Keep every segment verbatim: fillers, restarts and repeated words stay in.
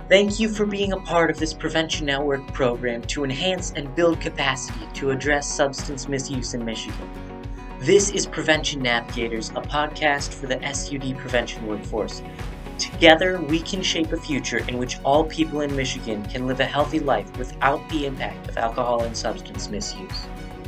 Thank you for being a part of this Prevention Network program to enhance and build capacity to address substance misuse in Michigan. This is Prevention Navigators, a podcast for the S U D prevention workforce. Together, we can shape a future in which all people in Michigan can live a healthy life without the impact of alcohol and substance misuse.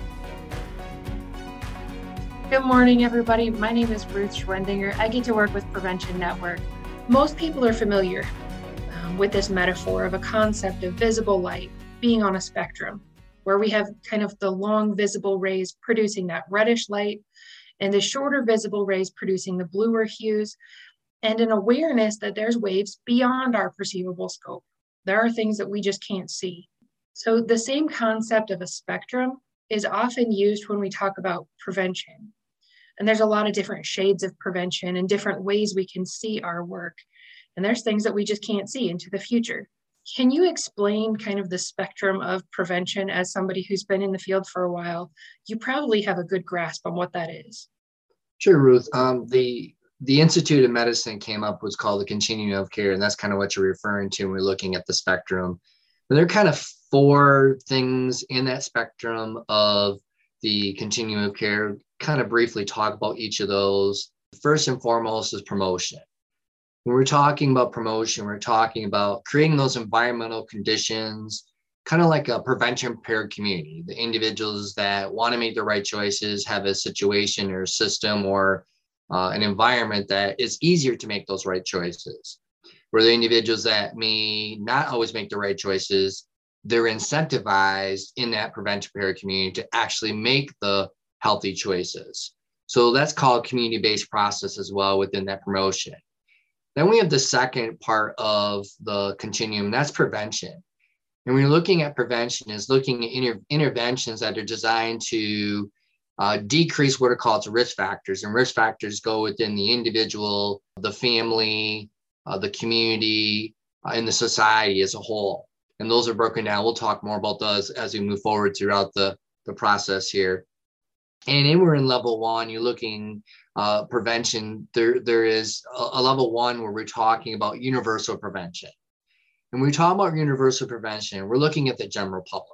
Good morning, everybody. My name is Ruth Schwendinger. I get to work with Prevention Network. Most people are familiar um, with this metaphor of a concept of visible light being on a spectrum, where we have kind of the long visible rays producing that reddish light and the shorter visible rays producing the bluer hues, and an awareness that there's waves beyond our perceivable scope. There are things that we just can't see. So the same concept of a spectrum is often used when we talk about prevention. And there's a lot of different shades of prevention and different ways we can see our work. And there's things that we just can't see into the future. Can you explain kind of the spectrum of prevention as somebody who's been in the field for a while? You probably have a good grasp on what that is. Sure, Ruth. Um, the the Institute of Medicine came up what's called the continuum of care, and that's kind of what you're referring to when we're looking at the spectrum. And there are kind of four things in that spectrum of the continuum of care. Kind of briefly talk about each of those. First and foremost is promotion. When we're talking about promotion, we're talking about creating those environmental conditions, kind of like a prevention prepared community. The individuals that want to make the right choices have a situation or a system or uh, an environment that is easier to make those right choices. Where the individuals that may not always make the right choices, they're incentivized in that prevention prepared community to actually make the healthy choices. So that's called community-based process as well within that promotion. Then we have the second part of the continuum, that's prevention. And when you're looking at prevention is looking at inter- interventions that are designed to uh, decrease what are called risk factors. And risk factors go within the individual, the family, uh, the community, uh, and the society as a whole. And those are broken down. We'll talk more about those as we move forward throughout the, the process here. And then we're in level one, you're looking uh, prevention. There, there is a, a level one where we're talking about universal prevention. And when we talk about universal prevention, we're looking at the general public.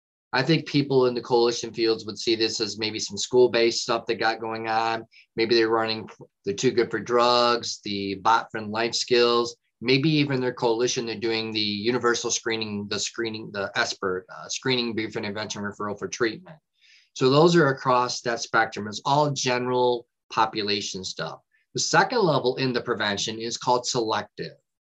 I think people in the coalition fields would see this as maybe some school-based stuff that got going on. Maybe they're running the Too Good for Drugs, the Bot Friend Life Skills, maybe even their coalition, they're doing the universal screening, the screening, the ESPERT, uh, screening brief intervention referral for treatment. So those are across that spectrum. It's all general population stuff. The second level in the prevention is called selective.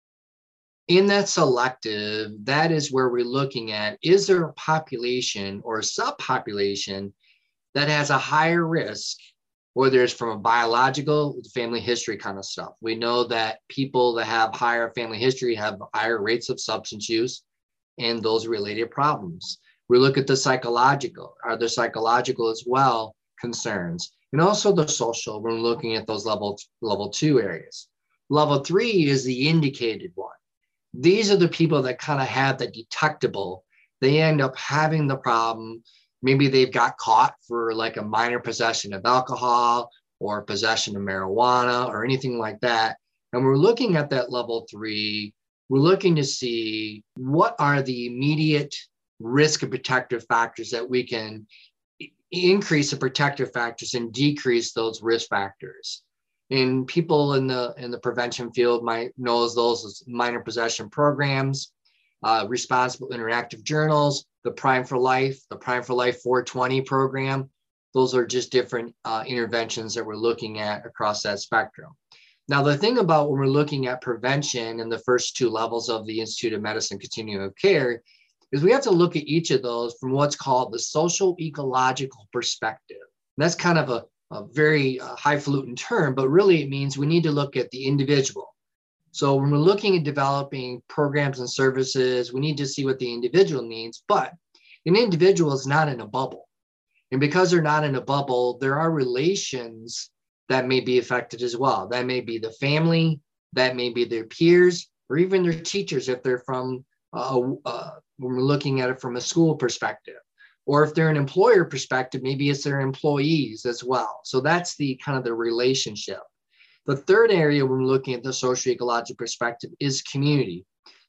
In that selective, that is where we're looking at, is there a population or a subpopulation that has a higher risk, whether it's from a biological, family history kind of stuff. We know that people that have higher family history have higher rates of substance use and those related problems. We look at the psychological. Are there psychological as well concerns? And also the social, when we're looking at those level, level two areas. Level three is the indicated one. These are the people that kind of have the detectable. They end up having the problem. Maybe they've got caught for like a minor possession of alcohol or possession of marijuana or anything like that. And we're looking at that level three. We're looking to see what are the immediate risk and protective factors that we can increase the protective factors and decrease those risk factors. And people in the in the prevention field might know those as minor possession programs, uh, responsible interactive journals, the Prime for Life, the Prime for Life four twenty program. Those are just different uh, interventions that we're looking at across that spectrum. Now, the thing about when we're looking at prevention in the first two levels of the Institute of Medicine Continuum of Care is we have to look at each of those from what's called the social ecological perspective. And that's kind of a, a very uh, highfalutin term, but really it means we need to look at the individual. So when we're looking at developing programs and services, we need to see what the individual needs, but an individual is not in a bubble. And because they're not in a bubble, there are relations that may be affected as well. That may be the family, that may be their peers, or even their teachers if they're from uh, uh, when we're looking at it from a school perspective, or if they're an employer perspective, maybe it's their employees as well. So that's the kind of the relationship. The third area when we're looking at the socio-ecological perspective is community.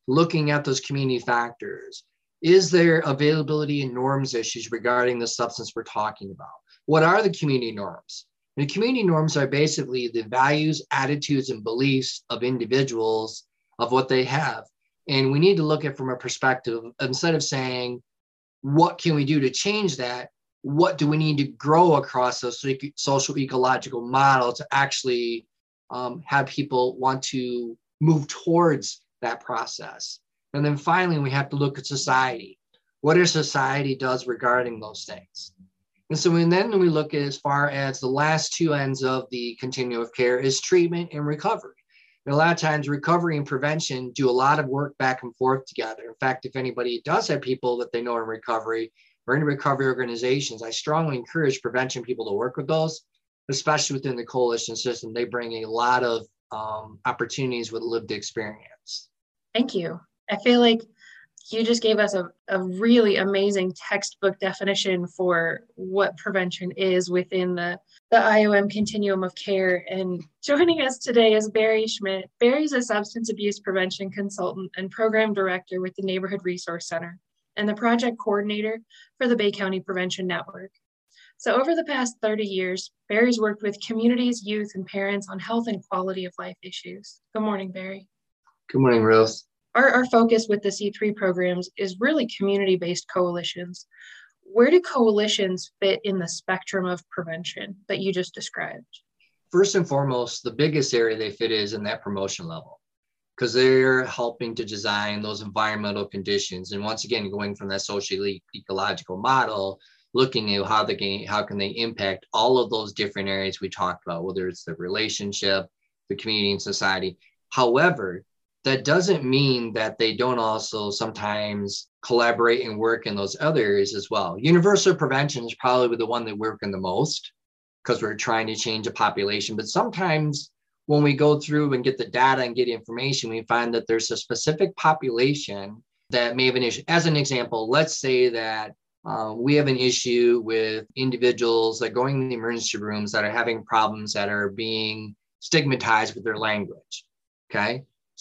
looking at those community factors. Is there availability and norms issues regarding the substance we're talking about? What are the community norms? The community norms are basically the values, attitudes, and beliefs of individuals of what they have. And we need to look at it from a perspective, instead of saying, what can we do to change that? What do we need to grow across a social ecological model to actually um, have people want to move towards that process? And then finally, we have to look at society. What our society does regarding those things. And so and then we look at as far as the last two ends of the continuum of care is treatment and recovery. And a lot of times recovery and prevention do a lot of work back and forth together. In fact, if anybody does have people that they know in recovery or in recovery organizations, I strongly encourage prevention people to work with those, especially within the coalition system. They bring a lot of um, opportunities with lived experience. Thank you. I feel like you just gave us a, a really amazing textbook definition for what prevention is within the, the I O M continuum of care. And joining us today is Barry Schmidt. Barry's a substance abuse prevention consultant and program director with the Neighborhood Resource Center and the project coordinator for the Bay County Prevention Network. So over the past thirty years, Barry's worked with communities, youth, and parents on health and quality of life issues. Good morning, Barry. Good morning, Ruth. Our, our focus with the C three programs is really community-based coalitions. Where do coalitions fit in the spectrum of prevention that you just described? First and foremost, the biggest area they fit is in that promotion level, because they're helping to design those environmental conditions. And once again, going from that social ecological model, looking at how they can, how can they impact all of those different areas we talked about, whether it's the relationship, the community, and society. However, that doesn't mean that they don't also sometimes collaborate and work in those other areas as well. Universal prevention is probably the one that work in the most because we're trying to change a population. But sometimes when we go through and get the data and get information, we find that there's a specific population that may have an issue. As an example, let's say that uh, we have an issue with individuals that are going in the emergency rooms that are having problems that are being stigmatized with their language, okay?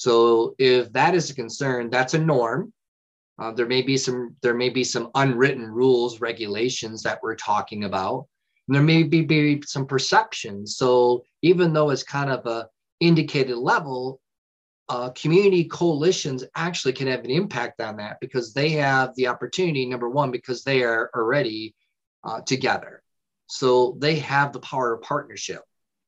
So if that is a concern, that's a norm. Uh, there may be some there may be some unwritten rules, regulations that we're talking about. And there may be, be some perceptions. So even though it's kind of a indicated level, uh, community coalitions actually can have an impact on that because they have the opportunity, number one, because they are already uh, together. So they have the power of partnership.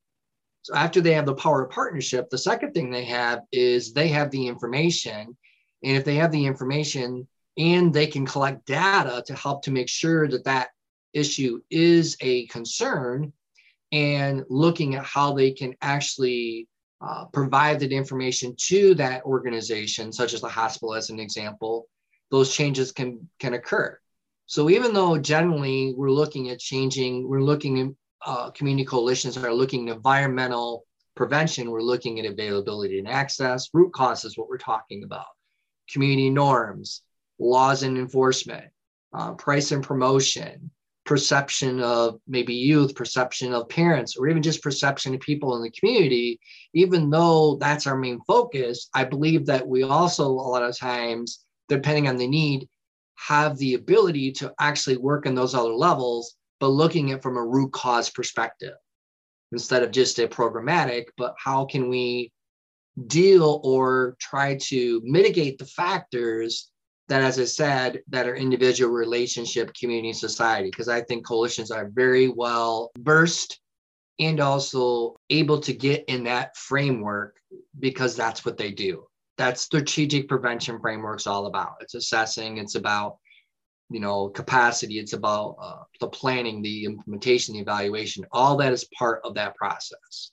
So after they have the power of partnership, the second thing they have is they have the information. And if they have the information and they can collect data to help to make sure that that issue is a concern and looking at how they can actually uh, provide that information to that organization, such as the hospital as an example, those changes can, can occur. So even though generally we're looking at changing, we're looking at Uh, community coalitions are looking at environmental prevention, we're looking at availability and access, root causes, what we're talking about, community norms, laws and enforcement, uh, price and promotion, perception of maybe youth, perception of parents, or even just perception of people in the community. Even though that's our main focus, I believe that we also, a lot of times, depending on the need, have the ability to actually work in those other levels, but looking at it from a root cause perspective instead of just a programmatic, but how can we deal or try to mitigate the factors that, as I said, that are individual, relationship, community, society, because I think coalitions are very well versed and also able to get in that framework because that's what they do. That's strategic prevention framework's all about. It's assessing, it's about you know, capacity, it's about uh, the planning, the implementation, the evaluation, all that is part of that process.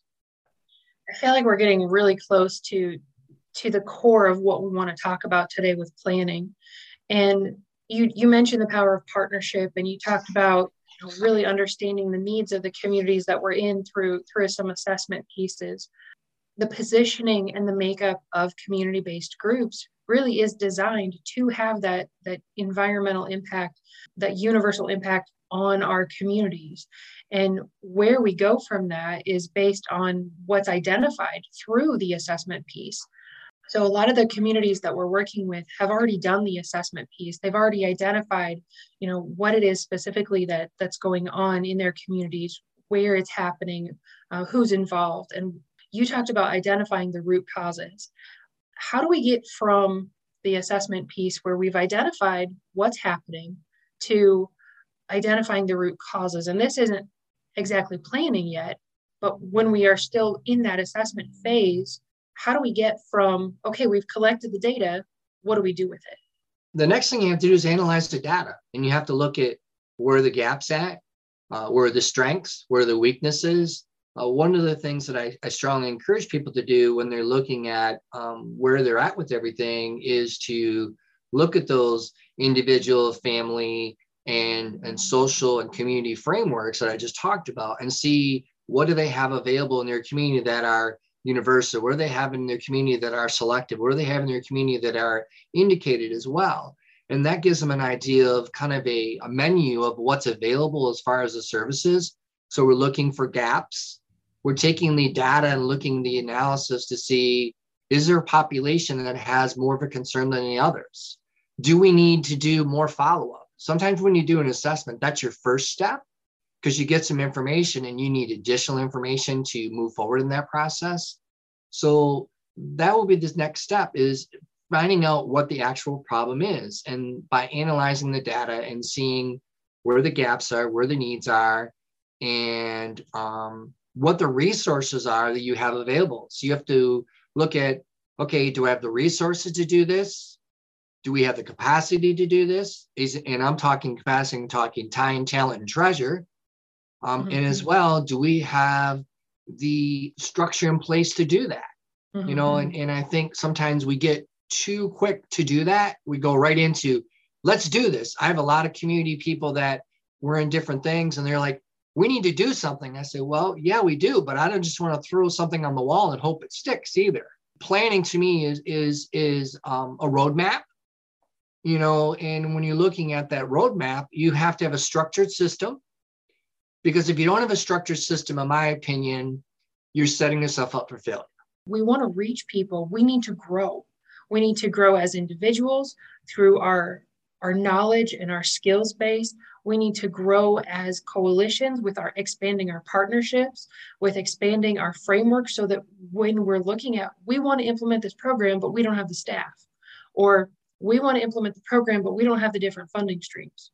I feel like we're getting really close to, to the core of what we want to talk about today with planning. And you, you mentioned the power of partnership, and you talked about you know, really understanding the needs of the communities that we're in through, through some assessment pieces. The positioning and the makeup of community-based groups really is designed to have that, that environmental impact, that universal impact on our communities. And where we go from that is based on what's identified through the assessment piece. So a lot of the communities that we're working with have already done the assessment piece. They've already identified, you know, what it is specifically that that's going on in their communities, where it's happening, uh, who's involved. And you talked about identifying the root causes. How do we get from the assessment piece where we've identified what's happening to identifying the root causes? And this isn't exactly planning yet, but when we are still in that assessment phase, how do we get from, okay, we've collected the data, what do we do with it? The next thing you have to do is analyze the data, and you have to look at where the gaps at, uh, where are the strengths, where are the weaknesses. Uh, one of the things that I, I strongly encourage people to do when they're looking at um, where they're at with everything is to look at those individual, family, and, and social and community frameworks that I just talked about and see what do they have available in their community that are universal, what do they have in their community that are selective, what do they have in their community that are indicated as well. And that gives them an idea of kind of a, a menu of what's available as far as the services. So we're looking for gaps. We're taking the data and looking at the analysis to see, is there a population that has more of a concern than the others? Do we need to do more follow-up? Sometimes when you do an assessment, that's your first step because you get some information and you need additional information to move forward in that process. So that will be the next step, is finding out what the actual problem is. And by analyzing the data and seeing where the gaps are, where the needs are, and um, what the resources are that you have available. So you have to look at, okay, do I have the resources to do this? Do we have the capacity to do this? Is, and I'm talking capacity, I'm talking time, talent, and treasure. Um, mm-hmm. And as well, do we have the structure in place to do that? Mm-hmm. You know, and, and I think sometimes we get too quick to do that. We go right into, let's do this. I have a lot of community people that were in different things and they're like, we need to do something. I say, well, yeah, we do, but I don't just want to throw something on the wall and hope it sticks either. Planning to me is, is, is um, a roadmap, you know, and when you're looking at that roadmap, you have to have a structured system. Because if you don't have a structured system, in my opinion, you're setting yourself up for failure. We want to reach people. We need to grow. We need to grow as individuals through our, our knowledge and our skills base. We need to grow as coalitions with our expanding our partnerships, with expanding our framework so that when we're looking at, we want to implement this program, but we don't have the staff. Or we want to implement the program, but we don't have the different funding streams.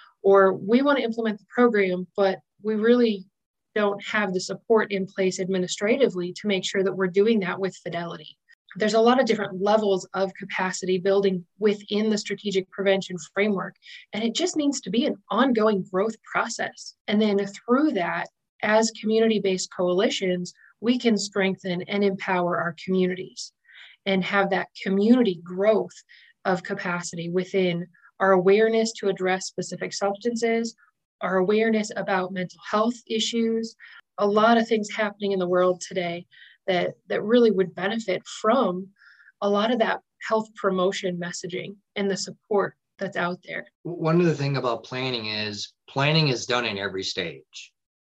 Or we want to implement the program, but we really don't have the support in place administratively to make sure that we're doing that with fidelity. There's a lot of different levels of capacity building within the strategic prevention framework, and it just needs to be an ongoing growth process. And then through that, as community-based coalitions, we can strengthen and empower our communities and have that community growth of capacity within our awareness to address specific substances, our awareness about mental health issues, a lot of things happening in the world today that, that really would benefit from a lot of that health promotion messaging and the support that's out there. One of the things about planning is planning is done in every stage.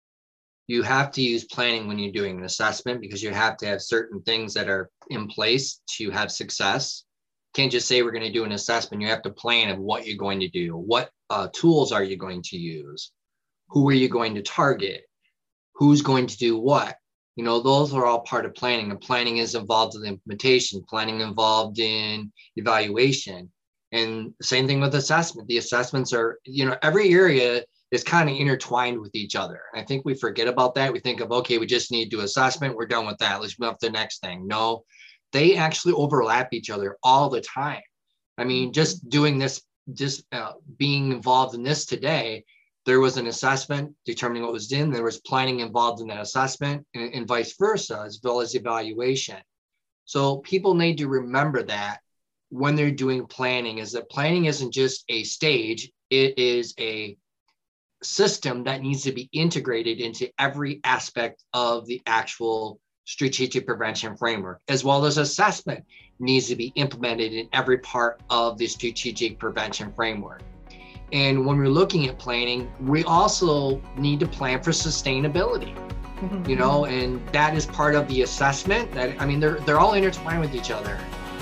You have to use planning when you're doing an assessment because you have to have certain things that are in place to have success. You can't just say we're going to do an assessment. You have to plan of what you're going to do. What uh, tools are you going to use? Who are you going to target? Who's going to do what? You know, those are all part of planning, and planning is involved in implementation, planning involved in evaluation. And same thing with assessment. The assessments are, you know, every area is kind of intertwined with each other. I think we forget about that. We think of, okay, we just need to do assessment. We're done with that. Let's move to the next thing. No, they actually overlap each other all the time. I mean, just doing this, just uh, being involved in this today, there was an assessment determining what was in, there was planning involved in that assessment, and, and vice versa, as well as evaluation. So people need to remember that when they're doing planning, is that planning isn't just a stage, it is a system that needs to be integrated into every aspect of the actual strategic prevention framework, as well as assessment needs to be implemented in every part of the strategic prevention framework. And when we're looking at planning, we also need to plan for sustainability, mm-hmm. you know, and that is part of the assessment. That I mean, they're they're all intertwined with each other.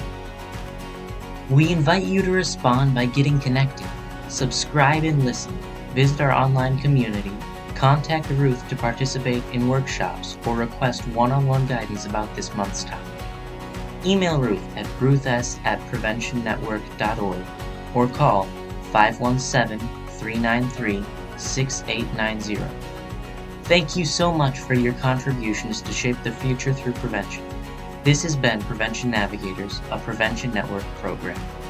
We invite you to respond by getting connected, subscribe and listen, visit our online community, contact Ruth to participate in workshops or request one-on-one guidance about this month's topic. Email Ruth at ruths at preventionnetwork dot org or call five one seven, three nine three, six eight nine zero. Thank you so much for your contributions to shape the future through prevention. This has been Prevention Navigators, a Prevention Network program.